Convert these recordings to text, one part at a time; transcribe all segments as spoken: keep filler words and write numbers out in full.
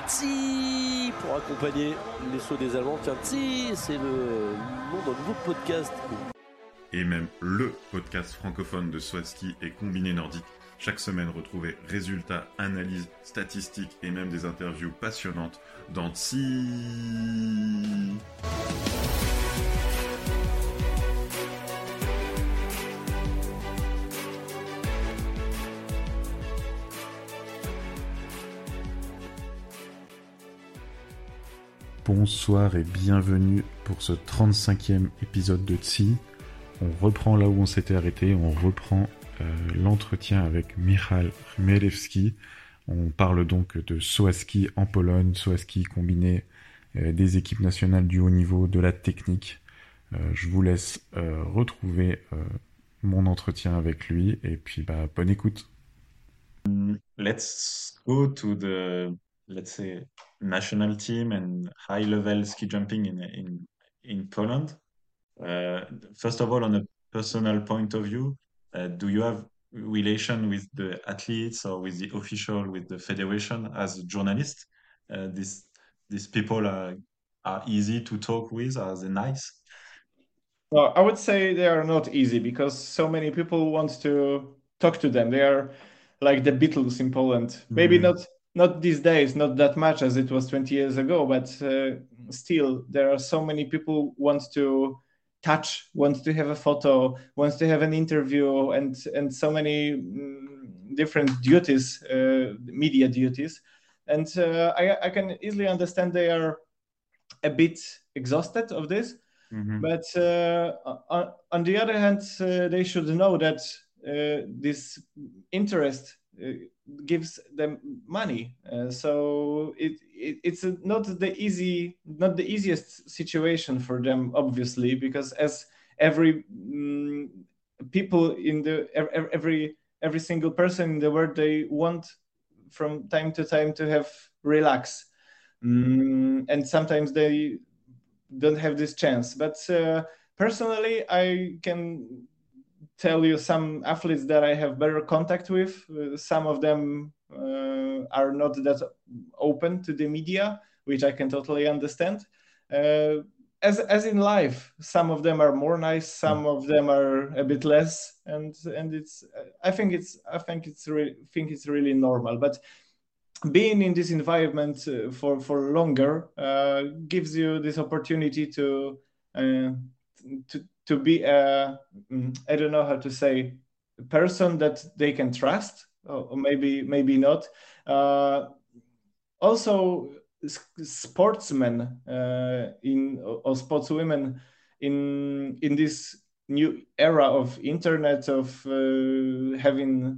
Tsi pour accompagner les sauts des Allemands. Tiens, Tsi, c'est le nom d'un nouveau podcast. Et même le podcast francophone de Swaski et combiné nordique. Chaque semaine, retrouvez résultats, analyses, statistiques et même des interviews passionnantes dans Tsi. Bonsoir et bienvenue pour ce trente-cinquième épisode de Tsi. On reprend là où on s'était arrêté, on reprend euh, l'entretien avec Michał Chmielewski. On parle donc de Swaski en Pologne, Swaski combiné euh, des équipes nationales du haut niveau, de la technique. Euh, je vous laisse euh, retrouver euh, mon entretien avec lui et puis bah, bonne écoute. Let's go to the, let's say, national team and high-level ski jumping in in in Poland. Uh, first of all, on a personal point of view, uh, do you have relation with the athletes or with the official, with the federation as a journalist? Uh, these these people are are easy to talk with. Are they nice? Well, I would say they are not easy because so many people want to talk to them. They are like the Beatles in Poland. Maybe Mhm. not not these days, not that much as it was twenty years ago, but uh, still there are so many people want to touch, want to have a photo, wants to have an interview, and and so many mm, different duties, uh, media duties, and uh, I I can easily understand they are a bit exhausted of this. Mhm. But uh, on, on the other hand, uh, they should know that uh, this interest uh, gives them money. Uh, so it, it it's a, not the easy, not the easiest situation for them, obviously, because as every mm, people in the ev- every every single person in the world, they want from time to time to have relax, mm, and sometimes they don't have this chance. But uh, personally, I can tell you some athletes that I have better contact with. Uh, some of them uh, are not that open to the media, which I can totally understand. Uh, as as in life, some of them are more nice, some of them are a bit less, and and it's I think it's I think it's re- think it's really normal. But being in this environment uh, for for longer uh, gives you this opportunity to uh, to to be a mm, I don't know how to say a person that they can trust, or, or maybe maybe not. Uh, also, s- sportsmen uh, in or sportswomen in in this new era of internet, of uh, having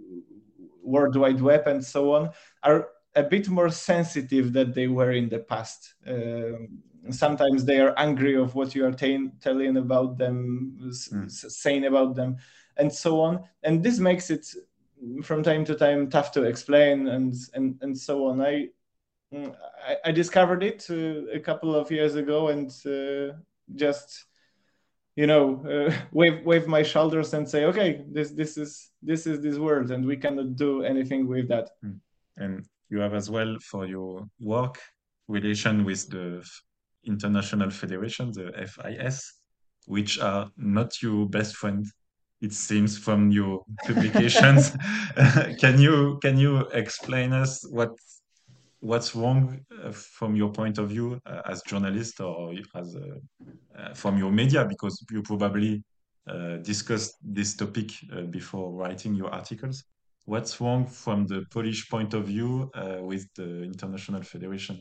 World Wide Web and so on, are a bit more sensitive than they were in the past. Um, sometimes they are angry of what you are t- telling about them, s- Mm. s- saying about them, and so on. And this makes it from time to time tough to explain and and and so on. I mm, I, I discovered it uh, a couple of years ago and uh, just you know uh, wave wave my shoulders and say, okay, this this is this is this world, and we cannot do anything with that. And you have as well for your work relation with the f- international federation, the F I S, which are not your best friend, it seems from your publications. can you can you explain us what what's wrong uh, from your point of view uh, as journalist or as a, uh, from your media, because you probably uh, discussed this topic uh, before writing your articles. What's wrong from the Polish point of view uh, with the International Federation?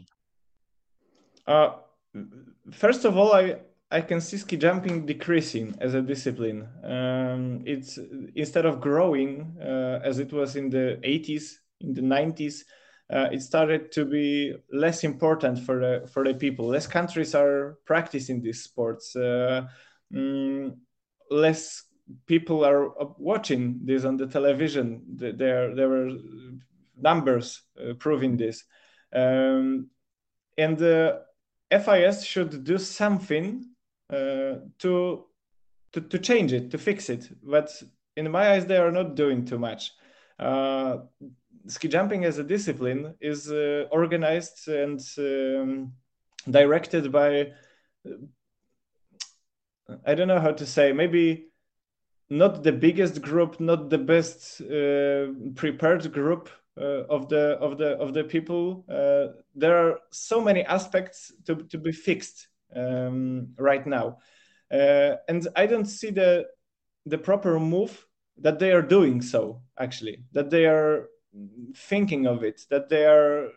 Uh, First of all, I I can see ski jumping decreasing as a discipline. Um, it's instead of growing uh, as it was in the eighties, in the nineties, uh, it started to be less important for the for the people. Less countries are practicing these sports. Uh, mm, less people are watching this on the television. There there were numbers uh, proving this. Um, and the F I S should do something uh, to, to to change it, to fix it. But in my eyes, they are not doing too much. Uh, ski jumping as a discipline is uh, organized and um, directed by, I don't know how to say, maybe not the biggest group, not the best uh, prepared group uh, of the of the of the people. Uh, there are so many aspects to to be fixed um, right now, uh, and I don't see the the proper move that they are doing so. Actually, that they are thinking of it, that they are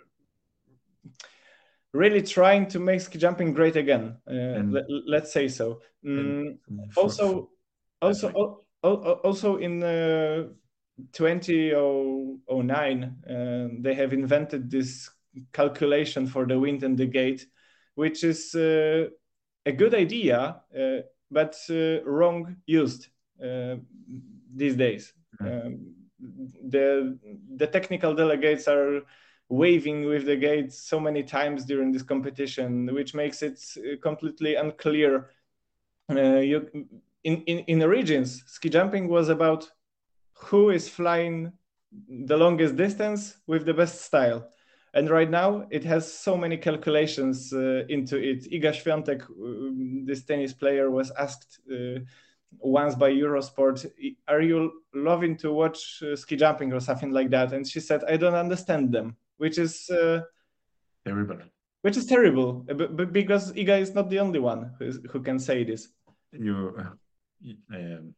really trying to make ski jumping great again. Uh, And- let, let's say so. Mm, And for- also, for- also, sorry. al- al- also in uh, twenty oh nine, uh, they have invented this calculation for the wind and the gate, which is uh, a good idea, uh, but uh, wrong used uh, these days. Mhm. Um, the the technical delegates are waving with the gate so many times during this competition, which makes it uh, completely unclear. Uh, you, in, in, in the regions, ski jumping was about who is flying the longest distance with the best style. And right now, it has so many calculations uh, into it. Iga Świątek, uh, this tennis player, was asked uh, once by Eurosport, "Are you loving to watch uh, ski jumping or something like that?" And she said, "I don't understand them," which is uh, Terrible. which is terrible, uh, b- b- because Iga is not the only one who, is, who can say this. You, um,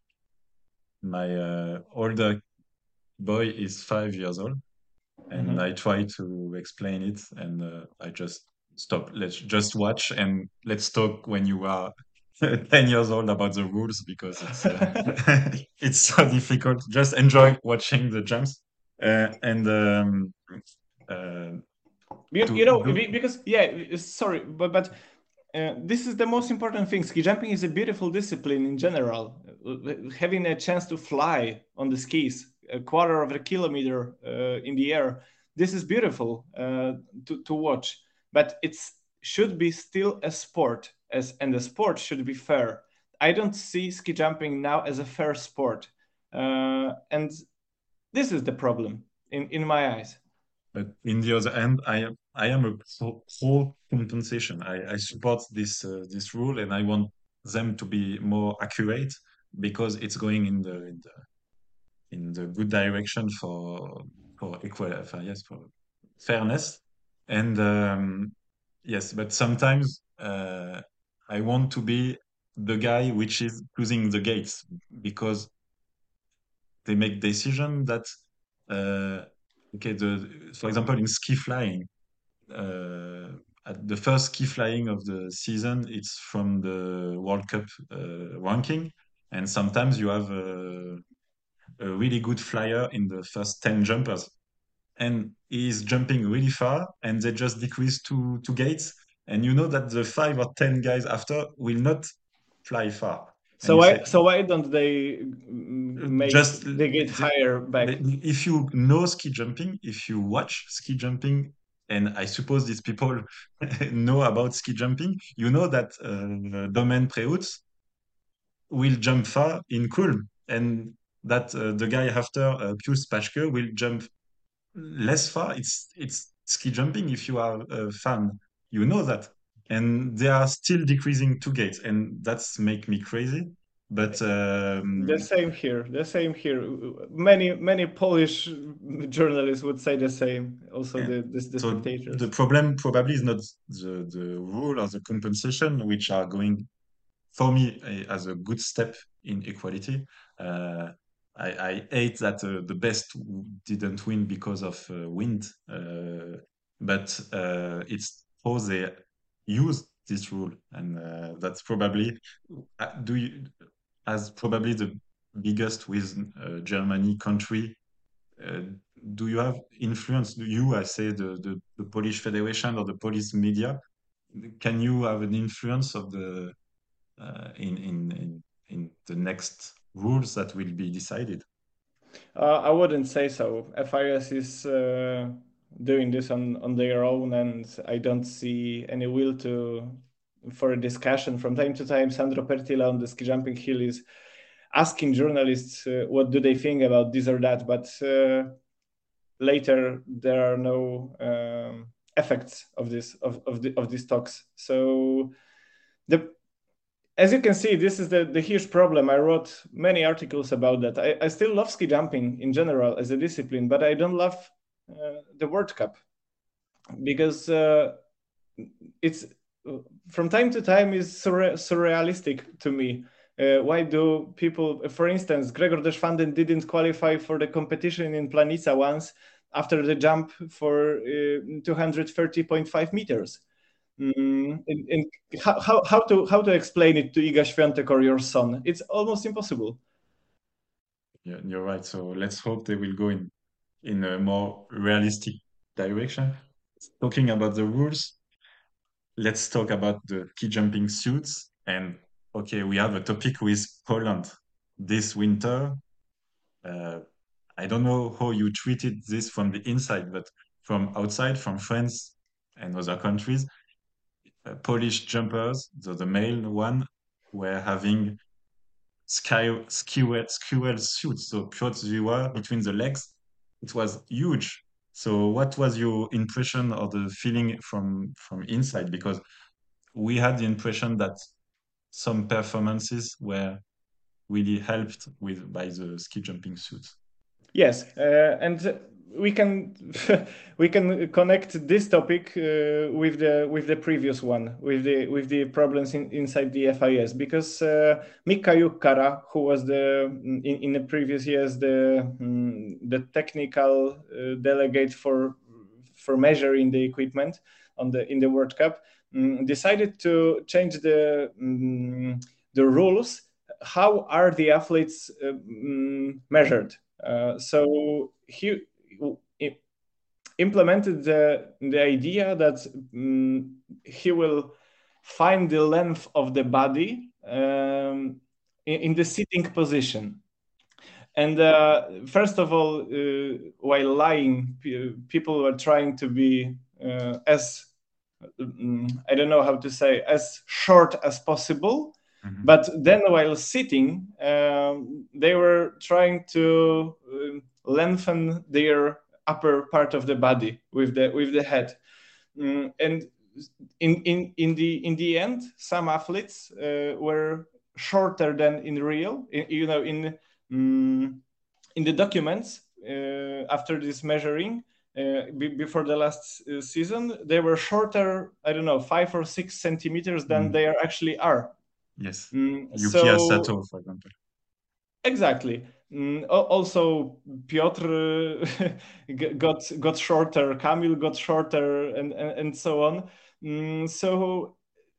my uh, older boy is five years old, and Mhm. I try to explain it, and uh, I just stop. Let's just watch, and let's talk when you are ten years old about the rules, because it's uh, it's so difficult. Just enjoy watching the jumps, uh, and um, uh, You, to you know, do- be- because yeah, sorry, but but uh, this is the most important thing. Ski jumping is a beautiful discipline in general. Uh, Having a chance to fly on the skis a quarter of a kilometer uh, in the air, this is beautiful uh, to to watch. But it's should be still a sport, as and the sport should be fair. I don't see ski jumping now as a fair sport, uh, and this is the problem in in my eyes. But in the other hand, I am I am a pro, pro compensation. I, I support this uh, this rule, and I want them to be more accurate, because it's going in the in the, in the good direction for for equal, uh, yes, for fairness. And um, yes, but sometimes uh, I want to be the guy which is choosing the gates, because they make decision that uh, okay, the for example, in ski flying, uh, at the first ski flying of the season, it's from the World Cup uh, ranking, and sometimes you have a, a really good flyer in the first ten jumpers, and he's jumping really far, and they just decrease two two gates, and you know that the five or ten guys after will not fly far. And So you why say, so why don't they mm, make just they get the- higher back? if you know ski jumping, if you watch ski jumping, and I suppose these people know about ski jumping, you know that uh, Domen Preutz will jump far in Kulm, and that uh, the guy after uh, Pius Paschke will jump less far. It's it's ski jumping. If you are a fan, you know that, and they are still decreasing two gates, and that's make me crazy. But um, The same here. The same here. Many many Polish journalists would say the same. Also, Yeah. the the, the so spectators. the problem probably is not the the rule or the compensation, which are going for me eh, as a good step in equality. Uh, I, I hate that uh, the best w- didn't win because of uh, wind, uh, but uh, it's how they use this rule, and uh, that's probably uh, do you as probably the biggest with uh, Germany country. Uh, do you have influence? Do you, I say, the, the the Polish Federation or the Polish media? Can you have an influence of the uh, in, in in in the next rules that will be decided? Uh, I wouldn't say so. F I S is uh, doing this on on their own, and I don't see any will to for a discussion. From time to time, Sandro Pertila on the ski jumping hill is asking journalists uh, what do they think about this or that, but. Uh, later there are no um, effects of this of of, the, of these talks. So the as you can see, this is the, the huge problem. I wrote many articles about that. I, I still love ski jumping in general as a discipline, but I don't love uh, the World Cup because uh, it's from time to time is surre- surrealistic to me. Uh, why do people, for instance, Gregor Deschwanden didn't qualify for the competition in Planica once after the jump for uh, two hundred thirty point five meters. Mm, and, and how, how, how to how to explain it to Iga Świątek or your son? It's almost impossible. Yeah, you're right. So let's hope they will go in in a more realistic direction. Talking about the rules, let's talk about the ski jumping suits. And okay, we have a topic with Poland this winter. Uh, I don't know how you treated this from the inside, but from outside, from France and other countries, uh, Polish jumpers, so the male one, were having sky skewer skewer suits, so Piotrziła between the legs. It was huge. So what was your impression or the feeling from from inside? Because we had the impression that some performances were really helped with by the ski jumping suits. Yes, uh, and we can we can connect this topic uh, with the with the previous one, with the with the problems in, inside the F I S, because uh, Mika Jukkara, who was the in, in the previous years the um, the technical uh, delegate for for measuring the equipment on the in the World Cup, um, decided to change the um, the rules. How are the athletes uh, um, measured? Uh, so he implemented the, the idea that um, he will find the length of the body um, in, in the sitting position. And uh, first of all, uh, while lying, p- people were trying to be uh, as, um, I don't know how to say, as short as possible. Mm-hmm. But then while sitting, um, they were trying to uh, lengthen their upper part of the body with the with the head. Um, and in, in, in, the, in the end, some athletes uh, were shorter than in real. In, you know, in, um, in the documents uh, after this measuring, uh, b- before the last uh, season, they were shorter, I don't know, five or six centimeters than mm. they are actually are. Yes. Mm, Yukiya so, Sato, for example. Exactly. Mm, also, Piotr got got shorter. Kamil got shorter, and and, and so on. Mm, so,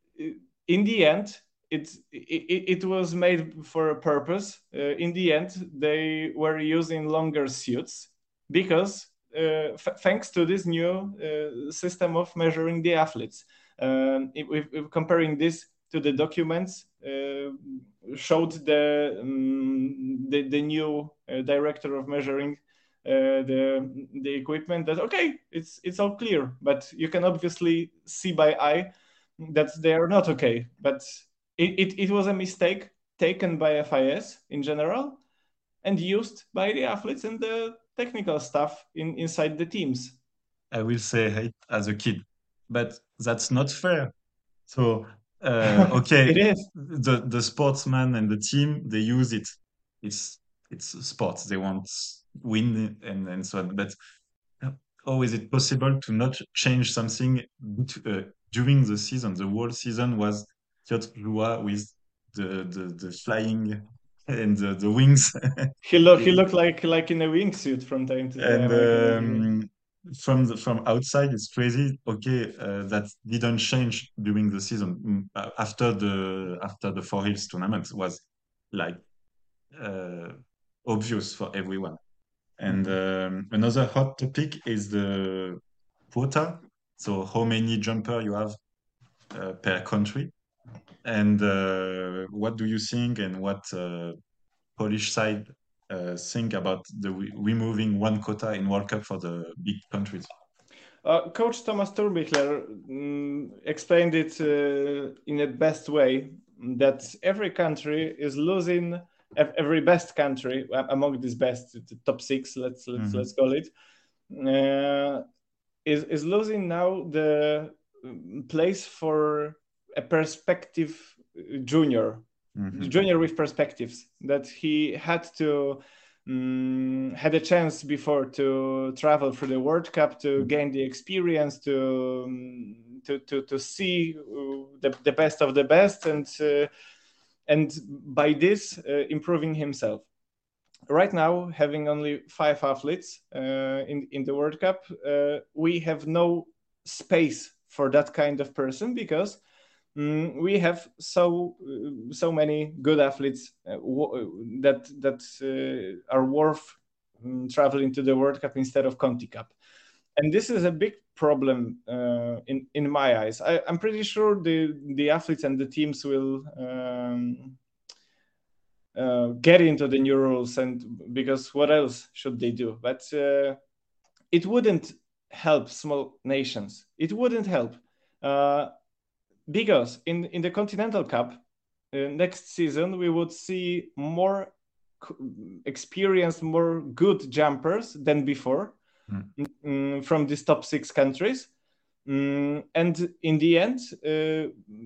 in the end, it, it it was made for a purpose. Uh, in the end, they were using longer suits because, uh, f- thanks to this new uh, system of measuring the athletes. Um, if, if comparing this to the documents, uh, showed the, um, the the new uh, director of measuring uh, the the equipment that okay, it's it's all clear, but you can obviously see by eye that they are not okay. But it, it, it was a mistake taken by F I S in general and used by the athletes and the technical staff in inside the teams. I will say hate as a kid, but that's not fair. So uh, okay, it is. the the sportsman and the team, they use it. It's it's sports. They want win and and so on. But how is it possible to not change something uh, during the season? The whole season was Piotrziła with the, the the flying and the, the wings. he looked he looked like like in a wingsuit from time to time. And um, from the, from outside, it's crazy. Okay, uh, that didn't change during the season. After the after the Four Hills tournament was like uh, obvious for everyone. And um, another hot topic is the quota. So how many jumper you have uh, per country, and uh, what do you think, and what uh, Polish side uh, think about the re- removing one quota in World Cup for the big countries? Uh, Coach Thomas Turbichler um, explained it uh, in the best way, that every country is losing, every best country among these best, the top six, let's let's mm-hmm. let's call it, uh, is is losing now the um, place for a perspective uh, junior, Mhm. junior with perspectives that he had to um, had a chance before to travel through the World Cup to gain the experience to um, to, to to see uh, the, the best of the best and uh, and by this uh, improving himself. Right now, having only five athletes uh, in in the World Cup, uh, we have no space for that kind of person because mm, we have so uh, so many good athletes uh, w- that that uh, are worth um, traveling to the World Cup instead of Conti Cup, and this is a big problem uh, in in my eyes. I, I'm pretty sure the the athletes and the teams will. Um, uh, get into the new rules, and because what else should they do? But uh, it wouldn't help small nations. It wouldn't help uh, because in in the Continental Cup uh, next season we would see more experienced, more good jumpers than before Mm. mm, from these top six countries. Mm, and in the end, uh,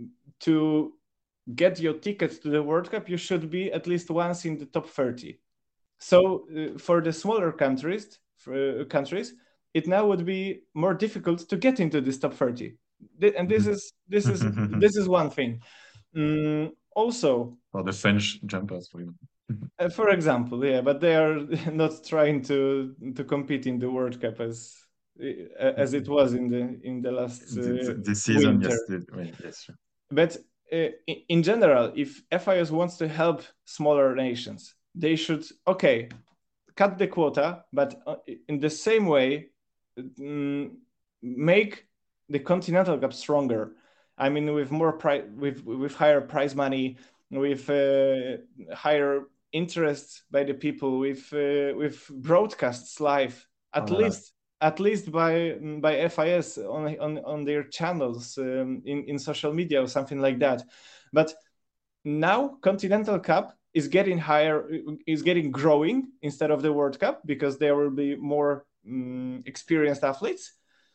to get your tickets to the World Cup, you should be at least once in the top thirty. So uh, for the smaller countries, for, uh, countries, it now would be more difficult to get into this top thirty. Th- And this Mhm. is this is this is one thing. Mm, also, For the French jumpers, for example. uh, for example, yeah, but they are not trying to to compete in the World Cup as uh, as it was in the in the last uh, Th- th- This season, winter. yes, the- well, yes, sure. But uh, in, in general, if F I S wants to help smaller nations, they should okay cut the quota, but uh, in the same way mm, make the Continental Cup stronger. I mean, with more price, with with higher prize money, with uh, higher interest by the people, with uh, with broadcasts live, at Oh, voilà. least at least by by F I S on on, on their channels um, in in social media or something like that. But now Continental Cup is getting higher, is getting growing instead of the World Cup because there will be more um, experienced athletes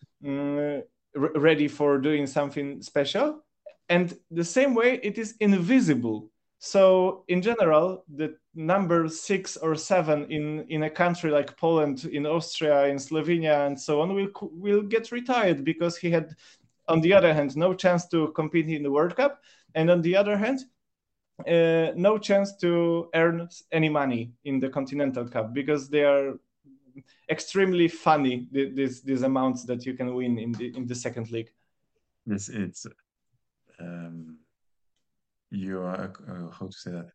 um, r- ready for doing something special. And the same way, it is invisible. So in general, the number six or seven in, in a country like Poland, in Austria, in Slovenia, and so on will will get retired because he had, on the other hand, no chance to compete in the World Cup, and on the other hand, uh, no chance to earn any money in the Continental Cup because they are extremely funny. These these amounts that you can win in the in the second league. Yes, it's um, you are uh, how to say that.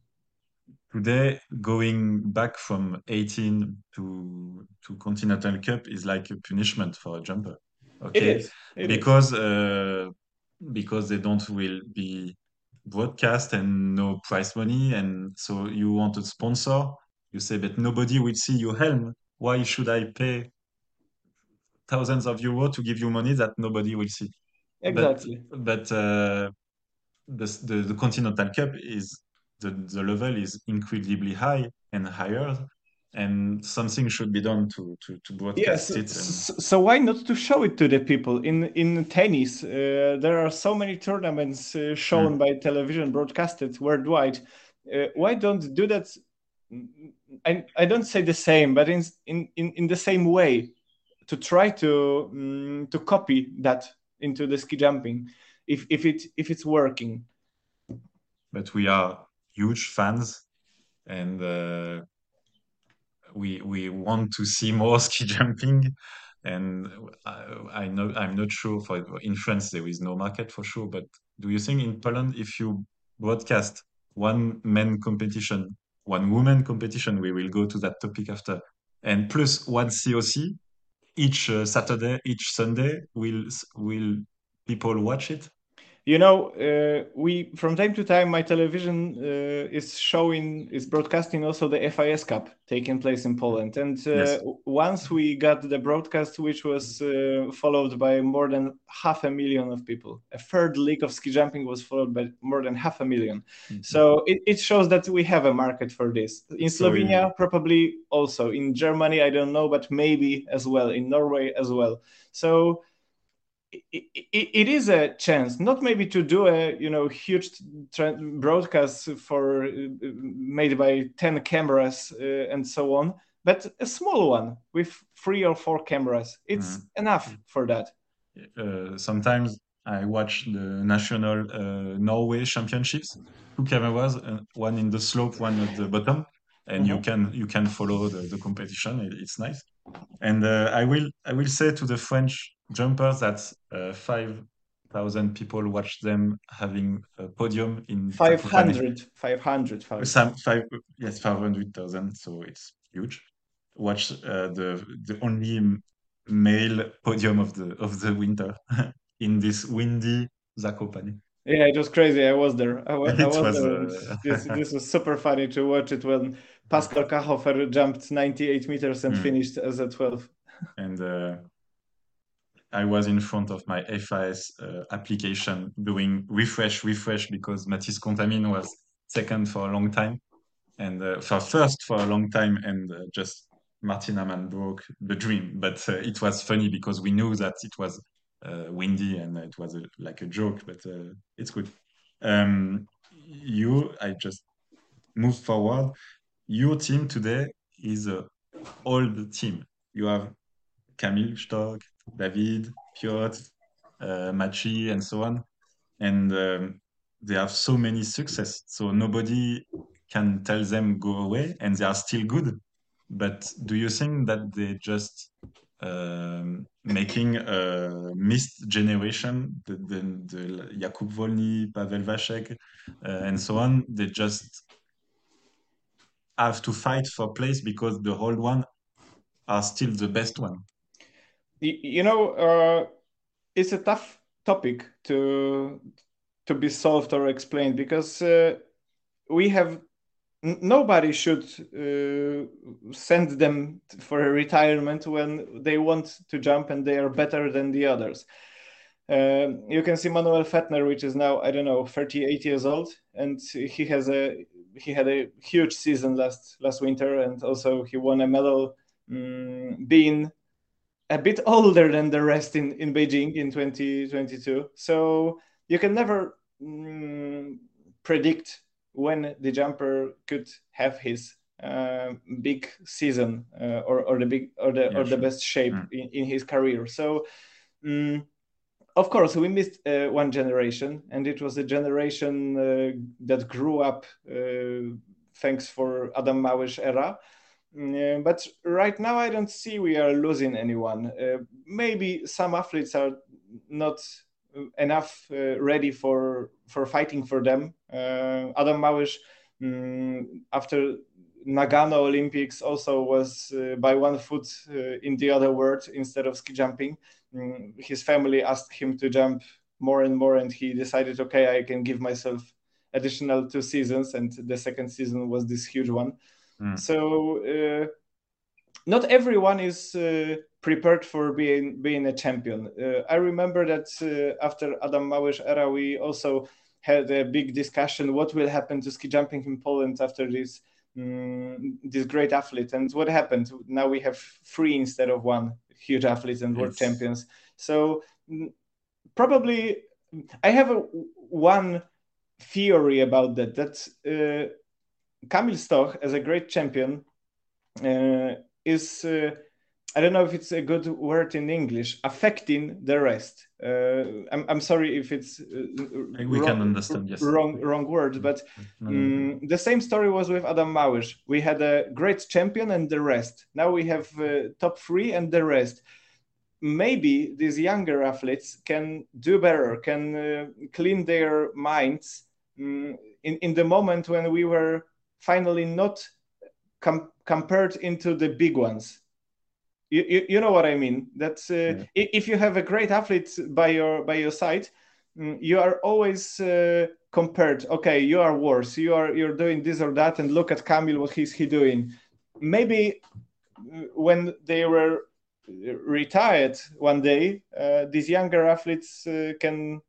Today, going back from eighteen to to Continental Cup is like a punishment for a jumper. It Okay, is. It is. because uh, because they don't will be broadcast and no prize money, and so you want a sponsor. You say, but nobody will see your helm. Why should I pay thousands of euros to give you money that nobody will see? But Exactly. but uh, the, the the Continental Cup is the the level is incredibly high and higher, and something should be done to to to Yes. broadcast it. And So, so why not to show it to the people in in tennis? Uh, there are so many tournaments uh, shown Mm. by television, broadcasted worldwide. Uh, why don't do that? I, I don't say the same, but in in in, in the same way, to try to um, to copy that into the ski jumping, if if it if it's working. but we are huge fans, and uh, we we want to see more ski jumping. And I, I know I'm not sure for in France there is no market for sure, but do you think in Poland if you broadcast one men competition, one woman competition, we will go to that topic after, and plus one C O C each uh, Saturday, each Sunday, will will people watch it? You know, uh, we from time to time, my television uh, is showing, is broadcasting also the F I S Cup taking place in Poland. And uh, Yes. once we got the broadcast, which was uh, followed by more than half a million of people. A third league of ski jumping was followed by more than half a million. Mm-hmm. So it, it shows that we have a market for this. In So Slovenia, you- probably also. In Germany, I don't know, but maybe as well. In Norway as well. So it, it, it is a chance, not maybe to do a you know huge tra- broadcast for uh, made by ten cameras uh, and so on, but a small one with three or four cameras. It's Mhm. enough for that. uh, sometimes I watch the national uh, Norway championships. Two cameras, uh, one in the slope, one at the bottom, and you Mhm. can you can follow the, the competition. It- it's nice. And uh, I will I will say to the French jumpers that uh, five thousand people watch them having a podium in five Zakopane. hundred, five hundred, five. Some five yes five hundred thousand, so it's huge. Watch uh, the the only m- male podium of the of the winter in this windy Zakopane. Yeah, it was crazy. I was there. I, wa- I It was was there. And uh, this this was super funny to watch it when Pascal Kachofer jumped ninety-eight meters and Mm. finished as a twelve. and uh, I was in front of my F I S uh, application doing refresh refresh because Mathis Contamine was second for a long time and uh, for first for a long time, and uh, just Martin Amann broke the dream. But uh, it was funny because we knew that it was uh, windy and it was a, like a joke, but uh, it's good. Um, you, I just moved forward. Your team today is a old team. You have Camille Stock, David, Piotr, uh, Machi, and so on. And um, they have so many success. So nobody can tell them go away, and they are still good. But do you think that they just um, making a missed generation, the, the, the Jakub Volny, Pavel Vacek, uh, and so on? They just have to fight for place because the old one are still the best one. Y- You know, uh, it's a tough topic to to be solved or explained because uh, we have n- nobody should uh, send them t- for a retirement when they want to jump and they are better than the others. Um, you can see Manuel Fettner, which is now I don't know thirty-eight years old, and he has a he had a huge season last last winter, and also he won a medal, mm, being a bit older than the rest in, in Beijing in twenty twenty-two. So you can never mm, predict when the jumper could have his uh, big season uh, or, or the big or the Yeah, or the sure. best shape Mm. in, in his career. So mm, of course we missed uh, one generation, and it was a generation uh, that grew up uh, thanks for Adam Małysz era. Mm, uh, but right now, I don't see we are losing anyone. Uh, maybe some athletes are not uh, enough uh, ready for for fighting for them. Uh, Adam Małysz, mm, after Nagano Olympics, also was uh, by one foot uh, in the other world instead of ski jumping. Mm, his family asked him to jump more and more, and he decided, okay, I can give myself additional two seasons, and the second season was this huge one. Mm. So uh, not everyone is uh, prepared for being being a champion. Uh, I remember that uh, after Adam Małysz era, we also had a big discussion what will happen to ski jumping in Poland after this um, this great athlete, and what happened. Now we have three instead of one huge athletes and world It's- champions. So mm, probably I have a, one theory about that. That uh, Kamil Stoch, as a great champion, uh, is uh, I don't know if it's a good word in English, affecting the rest. Uh, I'm, I'm sorry if it's uh, We wrong, can understand, yes. wrong wrong words, but No, no, no. um, the same story was with Adam Małysz. We had a great champion and the rest. Now we have uh, top three and the rest. Maybe these younger athletes can do better, can uh, clean their minds um, in, in the moment when we were finally not com- compared into the big ones. You, you, you know what I mean? That uh, Yeah. i- if you have a great athlete by your by your side, mm, you are always uh, compared. Okay, you are worse. You are you're doing this or that, and look at Kamil. What is he doing? Maybe when they were retired one day, uh, these younger athletes uh, can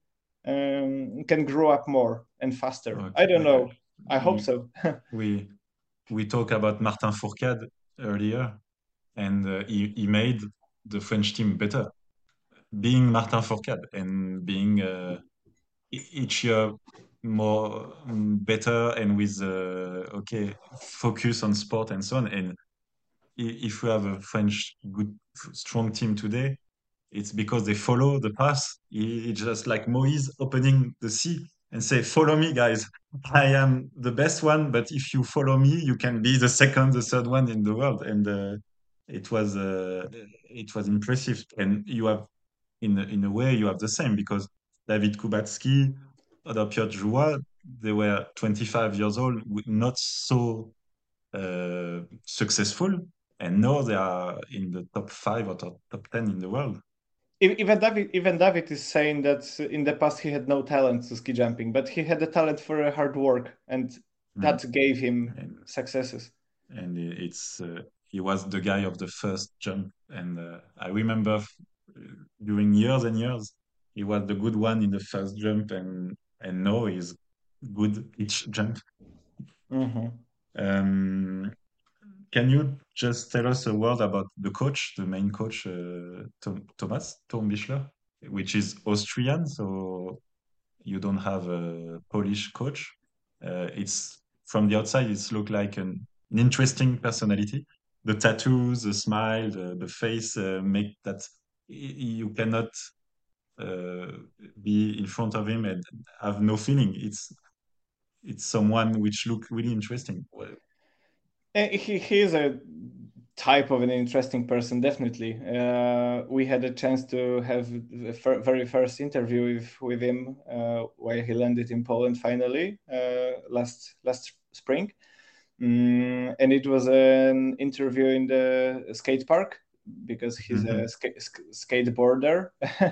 um, can grow up more and faster. Okay. I don't know. I hope We- so. we we talked about Martin Fourcade earlier, and uh, he, he made the French team better. Being Martin Fourcade and being uh, e- each year more um, better and with uh, okay focus on sport and so on. And i- if we have a French good strong team today, it's because they follow the path. It- It's just like Moïse opening the sea and say, "Follow me, guys. I am the best one, but if you follow me, you can be the second, the third one in the world." And uh, it was uh, it was impressive. And you have, in a- in a way, you have the same because David Kubacki, other Piotr Joua, they were twenty-five years old, with not so uh, successful, and now they are in the top five or top, top ten in the world. E- Even David, even David is saying that in the past he had no talent to ski jumping, but he had the talent for uh, hard work, and that gave him And, successes. and it's uh, he was the guy of the first jump, and uh, I remember f- during years and years he was the good one in the first jump, and and now he's good each jump. Mhm. Um, can you just tell us a word about the coach, the main coach, uh, Tom, Thomas Tom Bischler, which is Austrian, so you don't have a Polish coach. Uh, it's from the outside, it's look like an, an interesting personality. The tattoos, the smile, the, the face uh, make that y- you cannot uh, be in front of him and have no feeling. It's it's someone which look really interesting. Well, Eh, He, he is a type of an interesting person, definitely. Uh, we had a chance to have the fir- very first interview with, with him uh, while he landed in Poland finally uh, last last spring. Mm, and it was an interview in the skate park because he's a Mhm. ska- sk- skateboarder.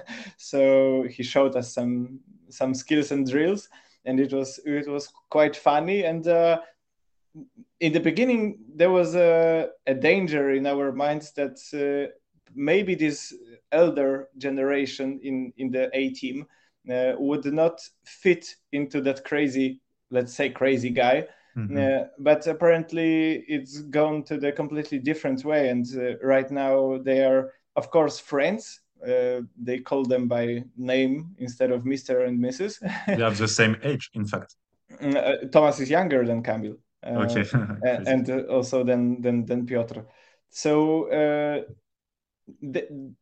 So he showed us some some skills and drills, and it was it was quite funny. And uh, in the beginning, there was a, a danger in our minds that uh, maybe this elder generation in in the A team uh, would not fit into that crazy, let's say, crazy guy. Mhm. Uh, but apparently, it's gone to the completely different way, and uh, right now they are, of course, friends. Uh, they call them by name instead of Mister and Missus They have the same age, in fact. Uh, Thomas is younger than Kamil, uh, Okay, a- crazy. and uh, also than than than Piotr. So uh, the,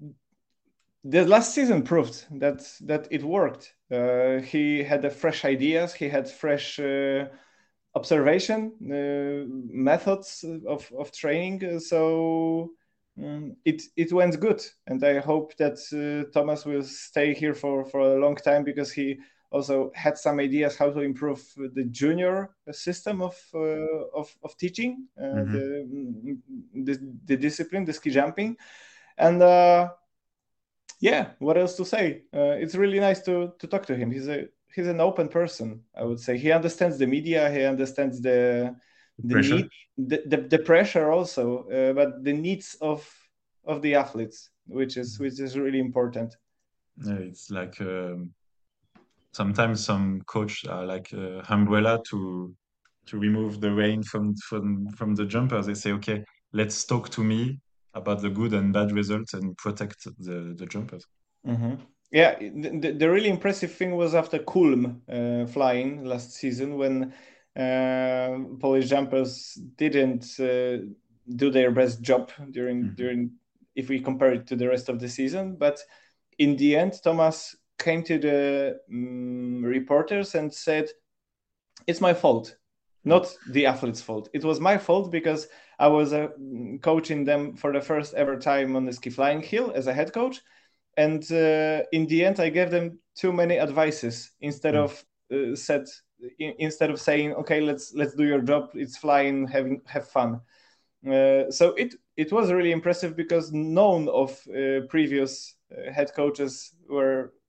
the last season proved that that it worked. Uh, he had the fresh ideas. He had fresh uh, observation uh, methods of of training. uh, So mm, it it went good, and I hope that uh, Thomas will stay here for for a long time because he also had some ideas how to improve the junior system of uh, of, of teaching uh, Mhm. the, mm, the the discipline, the ski jumping, and. Uh, yeah, what else to say? Uh, it's really nice to to talk to him. He's a he's an open person, I would say. He understands the media. He understands the the Pressure. need, the, the, the pressure also, uh, but the needs of of the athletes, which is which is really important. Yeah, it's like um, sometimes some coach are like uh, umbrella to to remove the rain from from from the jumpers. They say, okay, let's talk to me about the good and bad results and protect the the jumpers. hmm Yeah, the, the- the really impressive thing was after Kulm uh, flying last season when uh, Polish jumpers didn't uh, do their best job during Mhm. during if we compare it to the rest of the season. But in the end, Thomas came to the um, reporters and said, "It's my fault, not the athlete's fault. It was my fault because I was uh, coaching them for the first ever time on the ski flying hill as a head coach." And uh, in the end, I gave them too many advices instead Mm. of uh, said in, instead of saying, "Okay, let's let's do your job. It's flying, having have fun." Uh, so it it was really impressive because none of uh, previous uh, head coaches were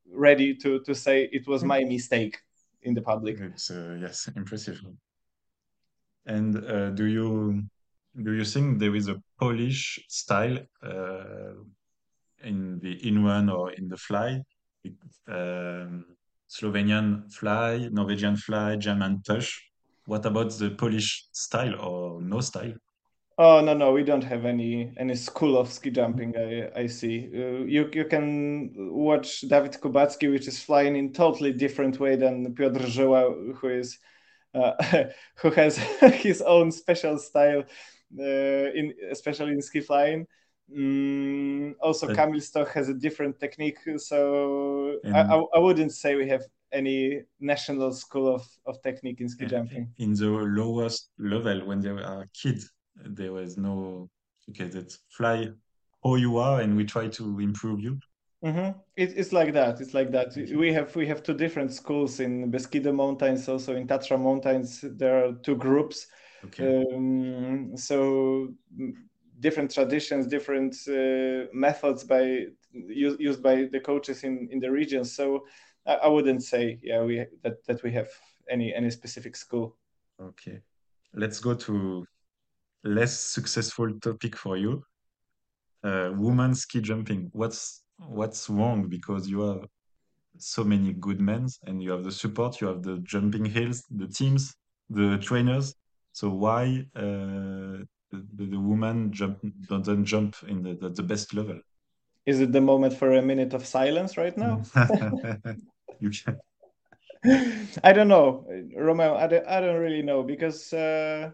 ready to to say it was my mistake in the public. It's uh, yes, impressive. And uh, do you do you think there is a Polish style uh, in the in-run or in the fly? Um, Slovenian fly, Norwegian fly, German tush. What about the Polish style or no style? Oh no no, we don't have any any school of ski jumping. I I see. Uh, you you can watch Dawid Kubacki, which is flying in totally different way than Piotr Żyła, who is uh, who has his own special style, uh, in especially in ski flying. Mm, also, But- Kamil Stoch has a different technique, so I, And- I I wouldn't say we have any national school of, of technique in ski Uh, jumping. In the lowest level, when they were kids, there was no, okay, that's fly how you are and we try to improve you. Mm-hmm. It, it's like that. It's like that. Okay. We have we have two different schools in Beskidy Mountains, also in Tatra Mountains. There are two groups. Okay. Um, so mm, different traditions, different uh, methods by used, used by the coaches in, in the regions. So I, I wouldn't say yeah we that, that we have any any specific school. Okay. Let's go to less successful topic for you. Uh, women ski jumping. What's what's wrong? Because you have so many good men and you have the support, you have the jumping hills, the teams, the trainers. So why uh, the, the, the woman jump doesn't jump in the, the, the best level? Is it the moment for a minute of silence right now? You can. I don't know, Romeo. I don't, I don't really know because uh,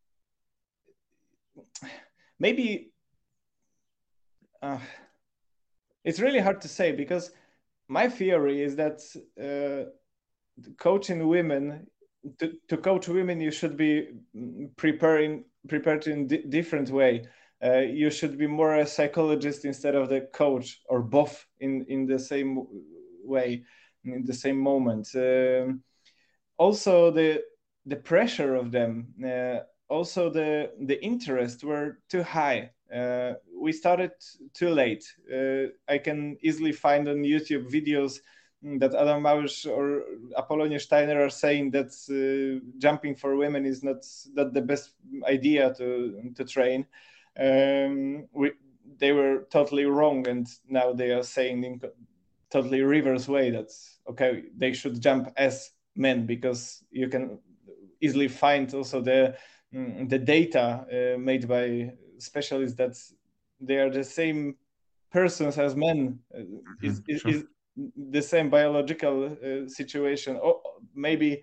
maybe uh, it's really hard to say because my theory is that uh, coaching women to, to coach women you should be preparing prepared in di- different way. Uh, you should be more a psychologist instead of the coach or both in in the same way in the same moment. Um, also the the pressure of them, uh, also the the interest were too high. Uh, we started too late. Uh, I can easily find on YouTube videos that Adam Małysz or Apollonie Steiner are saying that uh, jumping for women is not not the best idea to to train. Um, we, they were totally wrong, and now they are saying in totally reverse way that okay they should jump as men because you can easily find also the mm, the data uh, made by specialists that they are the same persons as men. Uh, is, is, sure. is the same biological uh, situation, or maybe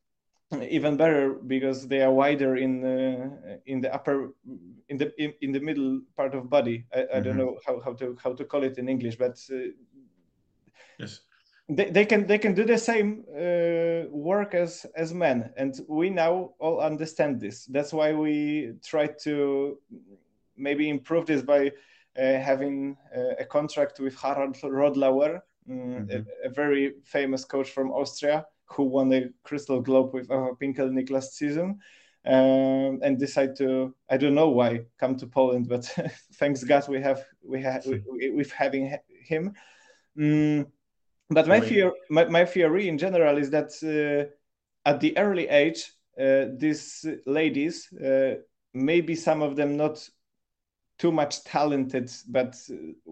even better because they are wider in uh, in the upper in the in, in the middle part of body. I, I don't Mhm. know how, how to how to call it in English, but uh, Yes. they, they can they can do the same uh, work as as men, and we now all understand this. That's why we try to maybe improve this by uh, having uh, a contract with Harald Rodlauer, mm, Mhm. a, a very famous coach from Austria who won the Crystal Globe with Eva Pinkel Niklas season. Um, and decide to I don't know why come to Poland, but thanks God we have we have we, we, with having him. Mm, but my Wait. fear, my, my theory in general is that uh, at the early age, uh, these ladies, uh, maybe some of them not too much talented, but uh,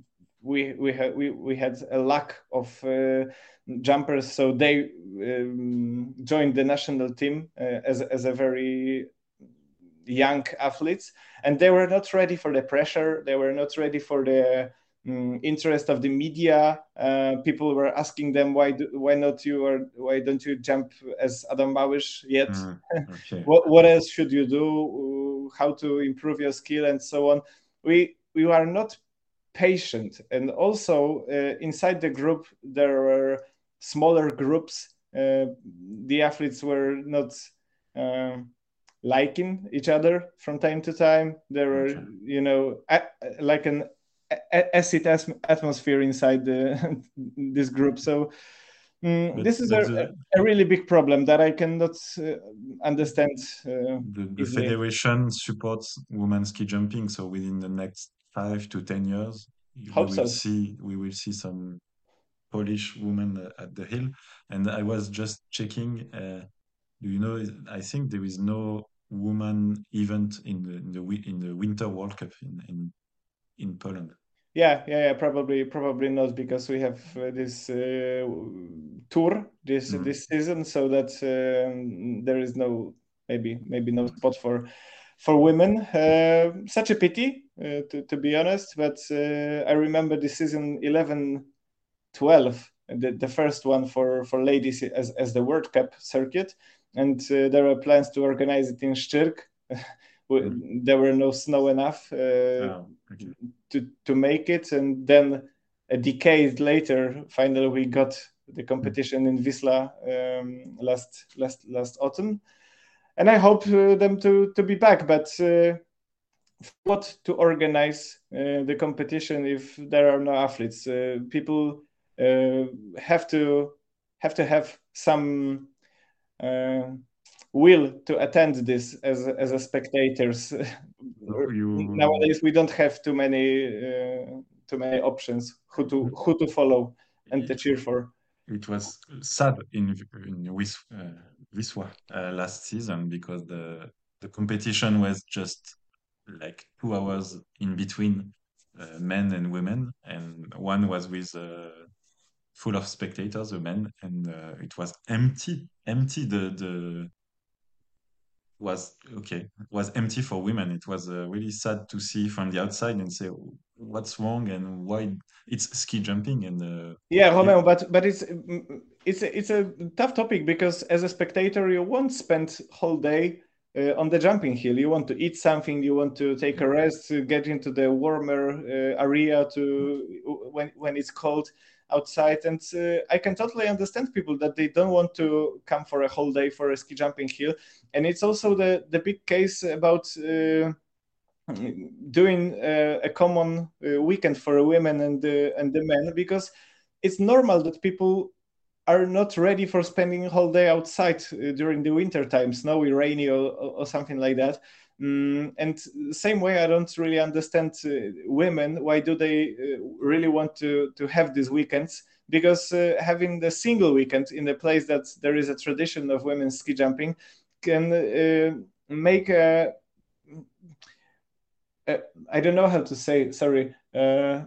we we had we, we had a lack of uh, jumpers, so they um, joined the national team uh, as as a very young athletes, and they were not ready for the pressure. They were not ready for the um, interest of the media. Uh, people were asking them why do, why not you or why don't you jump as Adam Małysz yet? Mm, okay. what what else should you do? How to improve your skill and so on? We we are not patient, and also uh, inside the group there were smaller groups. Uh, the athletes were not. Um, liking each other from time to time. There were, Okay. you know, a, like an a- acid as- atmosphere inside the, this group. So mm, But- this is but a, the- a really big problem that I cannot uh, understand. Uh, The, the easily. federation supports women ski jumping, so within the next five to ten years, we Hope will so. see we will see some Polish women uh, at the hill, and I was just checking. Uh, do you know? I think there is no woman event in the in the, wi- in the Winter World Cup in in, in Poland. Yeah, yeah, yeah. Probably, probably not because we have uh, this uh, tour this Mm. this season, so that um, there is no maybe maybe no spot for for women. Uh, such a pity, uh, to to be honest. But uh, I remember the season eleven twelve, the, the first one for for ladies as as the World Cup circuit, and uh, there were plans to organize it in Szczyrk. Mm. There were no snow enough. Uh, Oh, okay. to to make it, and then a decade later finally we got the competition in Wisla um, last last last autumn, and I hope uh, them to to be back, but uh, what to organize uh, the competition if there are no athletes? Uh, people uh, have to have to have some uh, will to attend this as as a spectators. So you Nowadays we don't have too many uh, too many options who to who to follow and to it, cheer for. it was sad in in Wis, uh, Wisła uh, last season because the the competition was just like two hours in between uh, men and women, and one was with uh, full of spectators, the men, and uh, it was empty, empty. The the was okay, was empty for women. It was uh, really sad to see from the outside and say what's wrong and why it's ski jumping and uh, Yeah, if, Romeo, but but it's it's a, it's a tough topic because as a spectator you won't spend whole day uh, on the jumping hill. You want to eat something, you want to take a rest, to get into the warmer uh, area to when when it's cold outside. And uh, I can totally understand people that they don't want to come for a whole day for a ski jumping hill. And it's also the the big case about. Uh, doing uh, a common uh, weekend for the women and the and the men, because it's normal that people are not ready for spending a whole day outside uh, during the winter time, snowy, rainy, or, or something like that. Mm, and same way, I don't really understand uh, women. Why do they uh, really want to to have these weekends? Because uh, having the single weekend in a place that there is a tradition of women ski jumping can uh, make a uh, I don't know how to say. Sorry. Uh,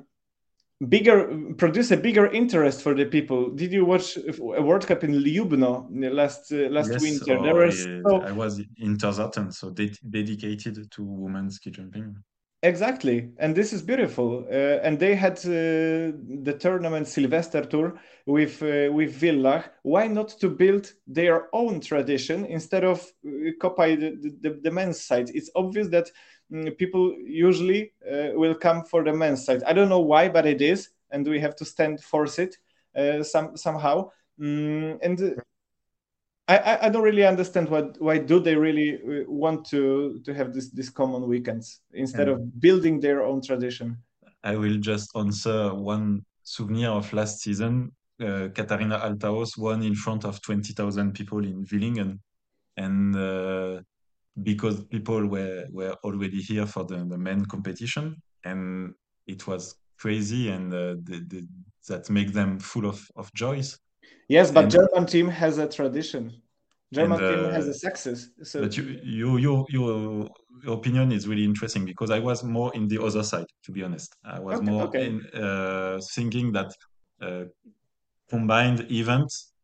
bigger produce a bigger interest for the people. Did you watch a World Cup in Ljubno last uh, last yes, winter? There or was uh, so I was in Terzarten, so de dedicated to women ski jumping. exactly, and this is beautiful. Uh, and they had uh, the tournament Sylvester Tour with uh, with Villach. Why not to build their own tradition instead of uh, copy the, the, the men's side? It's obvious that mm, people usually uh, will come for the men's side. I don't know why, but it is, and we have to stand force it uh, some somehow. Mm, and uh, I, I I don't really understand what why do they really uh, want to to have this this common weekends instead And of building their own tradition. I will just answer one souvenir of last season. Uh, Katharina Althaus won in front of twenty thousand people in Villingen, and uh, because people were were already here for the, the men competition, and it was crazy, and uh, the, the, that make them full of of joys. Yes, but And German team has a tradition. and German team has uh, a success. So but you, you you your your opinion is really interesting because I was more in the other side, to be honest. I was okay, more okay. in uh, thinking that uh, combined events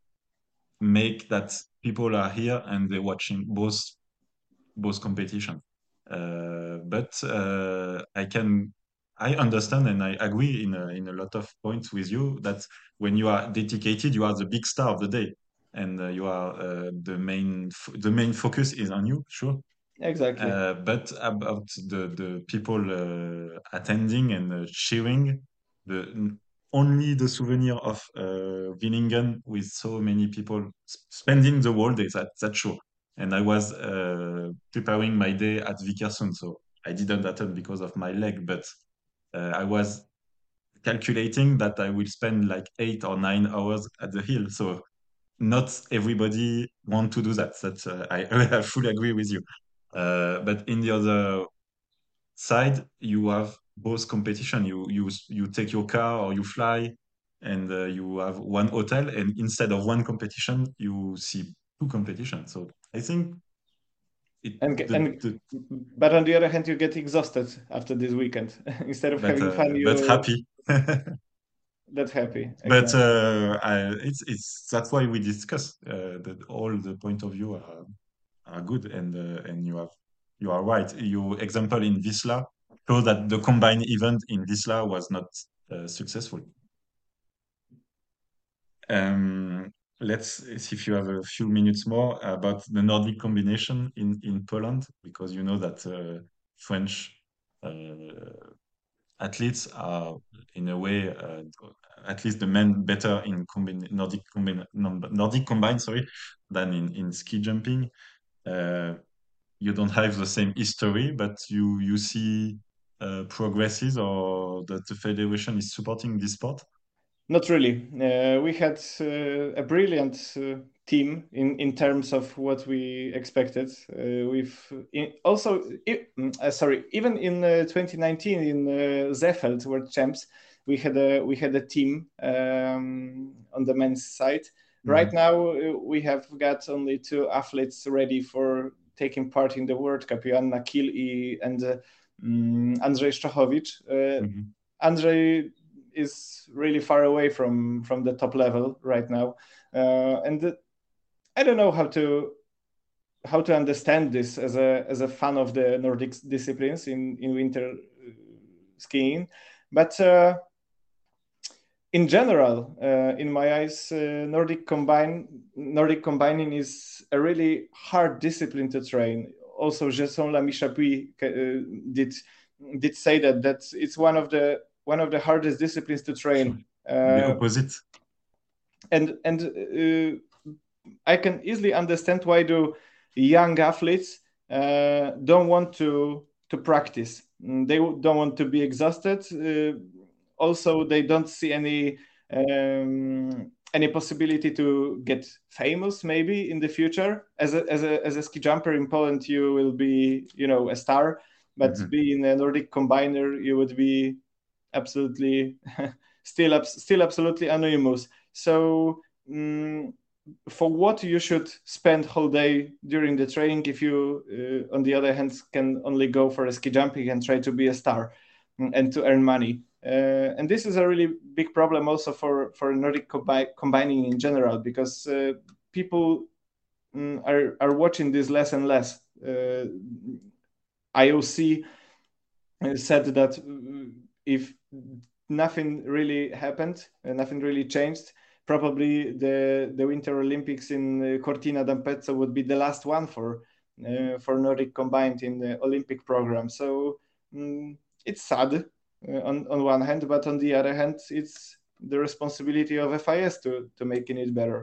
make that people are here and they're watching both both competition. Uh, but uh, I can I understand and I agree in a, in a lot of points with you that when you are dedicated, you are the big star of the day, and uh, you are uh, the main f- the main focus is on you, sure. Exactly. Uh, but about the the people uh, attending and uh, cheering, the only the souvenir of uh, Willingen with so many people s- spending the whole day. That that's sure. And I was uh, preparing my day at Vikersund, so I didn't attend because of my leg, but uh, I was calculating that I will spend like eight or nine hours at the hill. So not everybody want to do that. That's uh, I, I fully agree with you. Uh, but in the other side, you have both competition. You you you take your car or you fly. and uh, you have one hotel, and instead of one competition, you see two competitions. So I think it. And The, and the, but on the other hand, you get exhausted after this weekend instead of but having uh, fun. You but happy. That happy. But Exactly. uh, I, it's it's that's why we discuss uh, that all the point of view are are good, and uh, and you have you are right. Your example in Wisla shows that the combined event in Wisla was not uh, successful. Um, let's see if you have a few minutes more about the Nordic combination in in Poland, because you know that uh, French uh, athletes are in a way, uh, at least the men, better in combine, Nordic combine, Nordic combine, sorry, than in, in ski jumping. Uh, you don't have the same history, but you you see uh, progresses, or that the federation is supporting this sport. Not really. Uh, we had uh, a brilliant uh, team in, in terms of what we expected. Uh, we've in, also, uh, sorry, even in uh, twenty nineteen in uh, Seefeld World Champs, we had a we had a team um, on the men's side. Mm-hmm. Right now, uh, we have got only two athletes ready for taking part in the World Cup: Joanna Kiel and uh, um, Andrzej Szczachowicz. Uh, mm-hmm. Andrzej is really far away from from the top level right now, uh, and the, I don't know how to how to understand this as a as a fan of the Nordic disciplines in in winter skiing, but uh, in general, uh, in my eyes, uh, Nordic combine Nordic combining is a really hard discipline to train. Also, Jason Lamy-Chapuis uh, did did say that that it's one of the one of the hardest disciplines to train. Uh, the opposite. And and uh, I can easily understand why do young athletes uh, don't want to to practice. They don't want to be exhausted. Uh, also, they don't see any um, any possibility to get famous maybe in the future. As a as a as a ski jumper in Poland, you will be you know a star, but mm-hmm. being a Nordic combiner, you would be absolutely still still absolutely anonymous. So um, for what you should spend whole day during the training if you uh, on the other hand can only go for a ski jumping and try to be a star and to earn money, uh, and this is a really big problem also for for Nordic combi- combining in general, because uh, people um, are are watching this less and less. uh, I O C said that if nothing really happened, uh, nothing really changed, probably the the Winter Olympics in uh, Cortina d'Ampezzo would be the last one for uh, for Nordic combined in the Olympic program. So um, it's sad uh, on on one hand, but on the other hand, it's the responsibility of F I S to to making it better.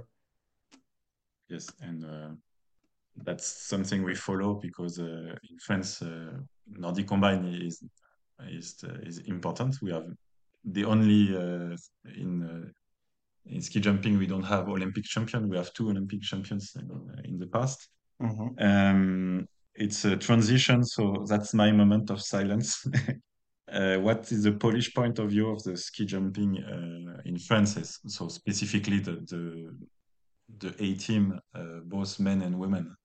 Yes, and uh, that's something we follow, because uh, in France, uh, Nordic combine is is uh, is important. We have the only uh, in uh, in ski jumping, we don't have Olympic champion. We have two Olympic champions in, uh, in the past. Mm-hmm. Um, it's a transition, so that's my moment of silence. uh, what is the Polish point of view of the ski jumping uh, in France? So specifically the the, the A team, uh, both men and women.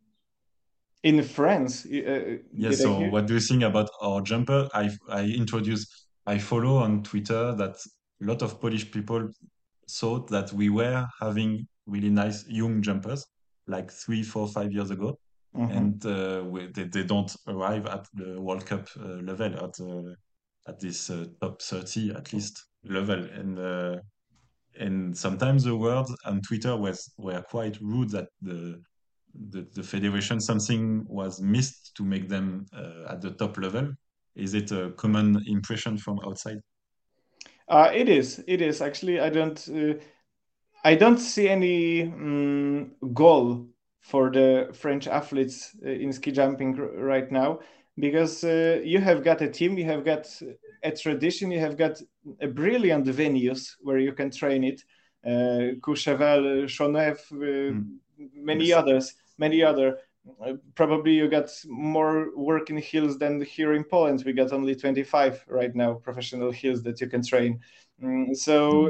In France, uh, yes. So what do you think about our jumper? I I introduced, I follow on Twitter that a lot of Polish people thought that we were having really nice young jumpers like three, four, five years ago, mm-hmm. and uh, we, they, they don't arrive at the World Cup uh, level, at uh, at this uh, top thirty at least level, and uh, and sometimes the words on Twitter was were quite rude that the the, the federation, something was missed to make them uh, at the top level. Is it a common impression from outside? Uh, it is. It is actually. I don't. Uh, I don't see any um, goal for the French athletes uh, in ski jumping r- right now, because uh, you have got a team, you have got a tradition, you have got a brilliant venues where you can train it. Uh, Courchevel, Chauneuf, uh, mm. many yes. others, many other. Uh, probably you got more working hills than here in Poland. We got only twenty-five right now professional hills that you can train. Mm, so mm.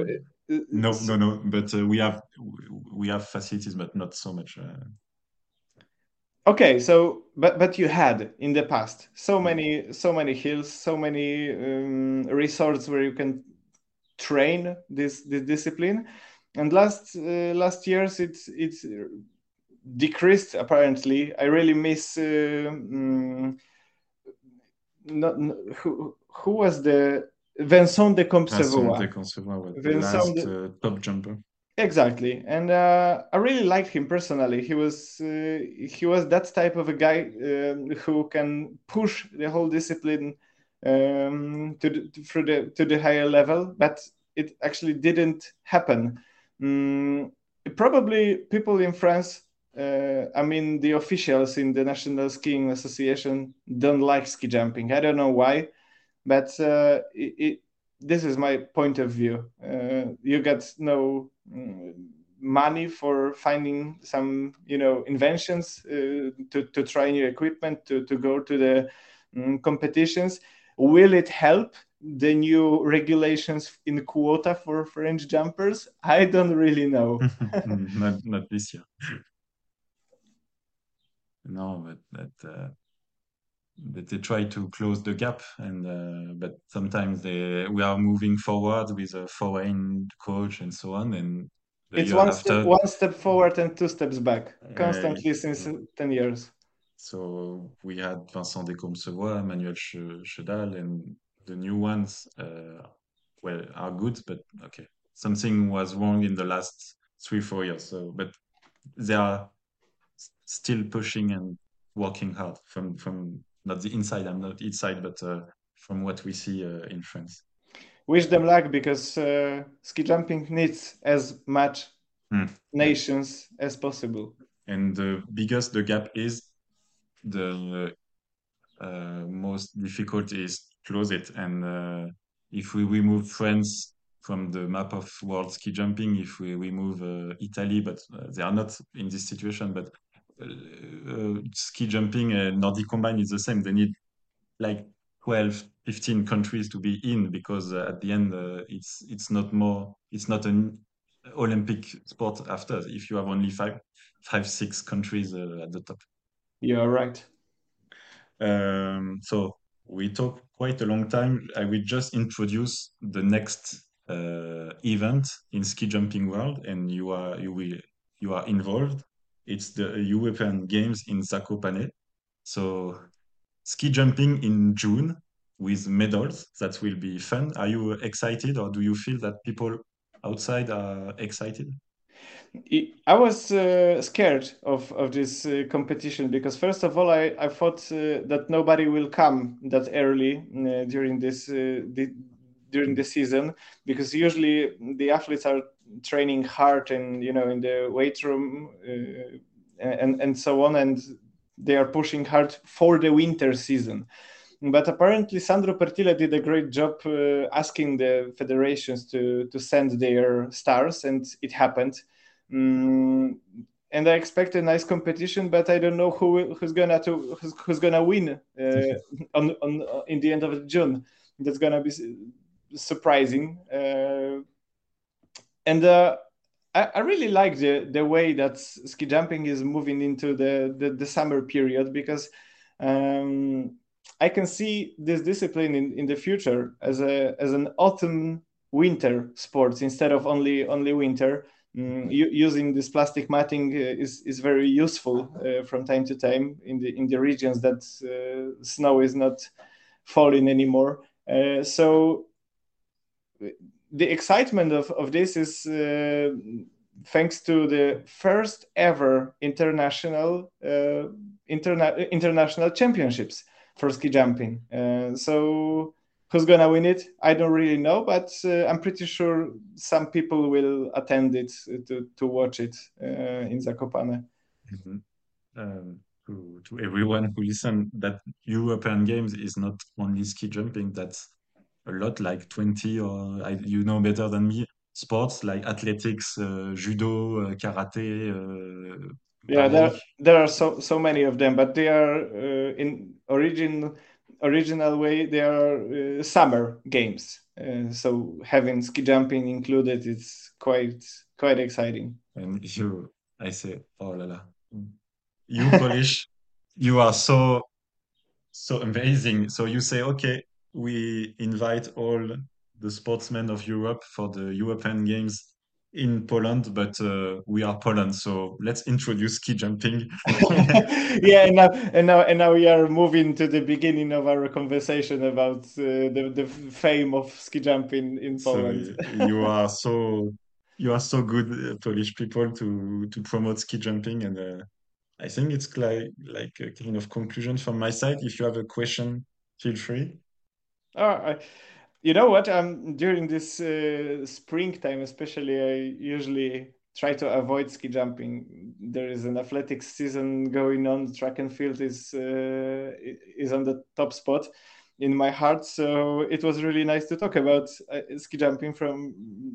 No, so- no, no. But uh, we have we have facilities, but not so much. Uh, Okay, so but but you had in the past so Mm. many so many hills, so many um, resorts where you can train this this discipline, and last uh, last years it's it's decreased apparently. I really miss uh, mm, not, who who was the Vincent de Vincent Compsavois. de Concevoir was the Vincent last de, uh, top jumper. Exactly, and uh, I really liked him personally. He was uh, he was that type of a guy um, who can push the whole discipline um, to the, through the to the higher level, but it actually didn't happen. Mm, Probably people in France, uh, I mean the officials in the National Skiing Association, don't like ski jumping. I don't know why, but uh, it, it, this is my point of view. Uh, you get no mm, money for finding some, you know, inventions uh, to to try new equipment to to go to the mm, competitions. Will it help the new regulations in quota for French jumpers? I don't really know. Mm, not not this year. No, but that uh, that they try to close the gap, and uh, but sometimes they we are moving forward with a foreign coach and so on, and the It's year one step after, one step forward and two steps back, uh, constantly since ten years. so we had Vincent Descombes-Savoie, Manuel Ch- Chedal, and the new ones, uh, well, are good, but okay, something was wrong in the last three, four years. So, but they are s- still pushing and working hard from from not the inside. I'm not inside, but uh, from what we see uh, in France. Wish them luck because uh, ski jumping needs as much Mm, yeah. nations as possible. And the biggest the gap is, the uh, most difficult is to close it. And uh, if we remove France from the map of world ski jumping, if we remove uh, Italy, but uh, they are not in this situation, but uh, uh, ski jumping and Nordic combined is the same. They need like twelve, fifteen countries to be in, because uh, at the end uh, it's it's not more it's not an Olympic sport after if you have only five five six countries uh, at the top. You're right. Um, so we talked quite a long time. I will just introduce the next uh, event in ski jumping world, and you are you will you are involved. It's the European Games in Zakopane. So ski jumping in June with medals. That will be fun. Are you excited, or do you feel that people outside are excited? I was uh, scared of, of this uh, competition because first of all, I, I thought uh, that nobody will come that early uh, during this uh, the, during the season, because usually the athletes are training hard and, you know, in the weight room uh, and and so on, and they are pushing hard for the winter season. But apparently, Sandro Pertile did a great job uh, asking the federations to to send their stars, and it happened. Mm, and I expect a nice competition, but I don't know who who's gonna to who's, who's gonna win uh, on on uh, in the end of June. That's gonna be surprising. Uh, and uh, I, I really like the the way that ski jumping is moving into the the, the summer period, because um, I can see this discipline in, in the future as a as an autumn winter sports instead of only only winter. Mm, u- using this plastic matting uh, is is very useful uh, from time to time in the in the regions that uh, snow is not falling anymore. Uh, so the excitement of, of this is uh, thanks to the first ever international uh, interna- international championships for ski jumping. Uh, so who's gonna win it? I don't really know, but uh, I'm pretty sure some people will attend it to, to watch it uh, in Zakopane. Mhm. Um, to, to everyone who listen, that European Games is not only ski jumping, that's a lot, like twenty, or I, you know better than me, sports like athletics, uh, judo, uh, karate, uh, Yeah, there ballet. there are so so many of them, but they are uh, in origin original way. They are uh, summer games. Uh, so having ski jumping included, it's quite quite exciting. And you, I say, oh la la, you Polish, you are so so amazing. So you say, okay, we invite all the sportsmen of Europe for the European Games in Poland, but uh, we are Poland, so let's introduce ski jumping. Yeah, and now and now and now we are moving to the beginning of our conversation about uh, the the fame of ski jumping in So Poland. you are so you are so good, uh, Polish people, to to promote ski jumping, and uh, I think it's like like a kind of conclusion from my side. If you have a question, feel free. Oh, I, you know what? Um, during this uh, springtime, especially, I usually try to avoid ski jumping. There is an athletics season going on. Track and field is uh, i- is on the top spot in my heart. So it was really nice to talk about uh, ski jumping from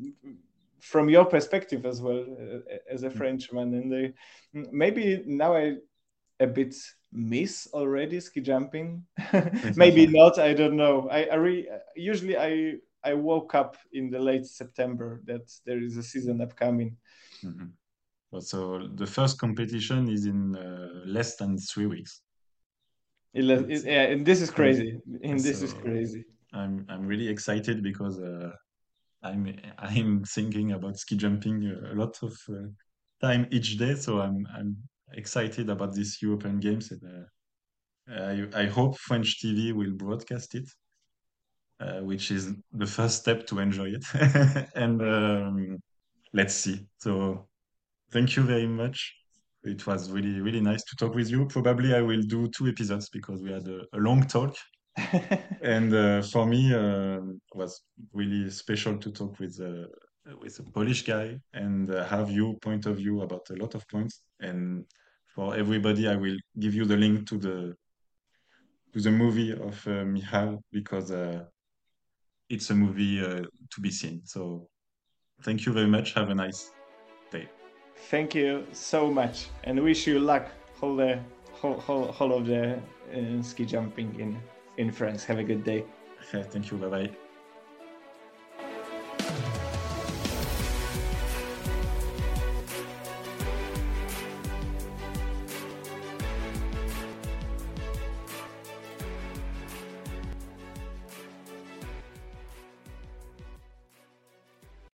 from your perspective as well, uh, as a Frenchman. And I, maybe now I a bit miss already ski jumping. Maybe not, I don't know. I, I re, usually I I woke up in the late September that there is a season upcoming. Mhm. Well, so the first competition is in uh, less than three weeks. It, le- It's- it- yeah, and this is crazy. And this is So- crazy. I'm I'm really excited because uh, I'm I'm thinking about ski jumping a lot of uh, time each day. So I'm I'm excited about these European Games, and uh, I I hope French T V will broadcast it, uh, which is the first step to enjoy it. And um, let's see. So thank you very much. It was really really nice to talk with you. Probably I will do two episodes because we had a, a long talk. And uh, for me, uh, it was really special to talk with uh, with a Polish guy and uh, have your point of view about a lot of points. And for everybody, I will give you the link to the to the movie of uh, Michal because uh, it's a movie uh, to be seen. So thank you very much. Have a nice day. Thank you so much, and wish you luck whole the whole, whole, whole of the uh, ski jumping in in France. Have a good day. Thank you. Bye bye.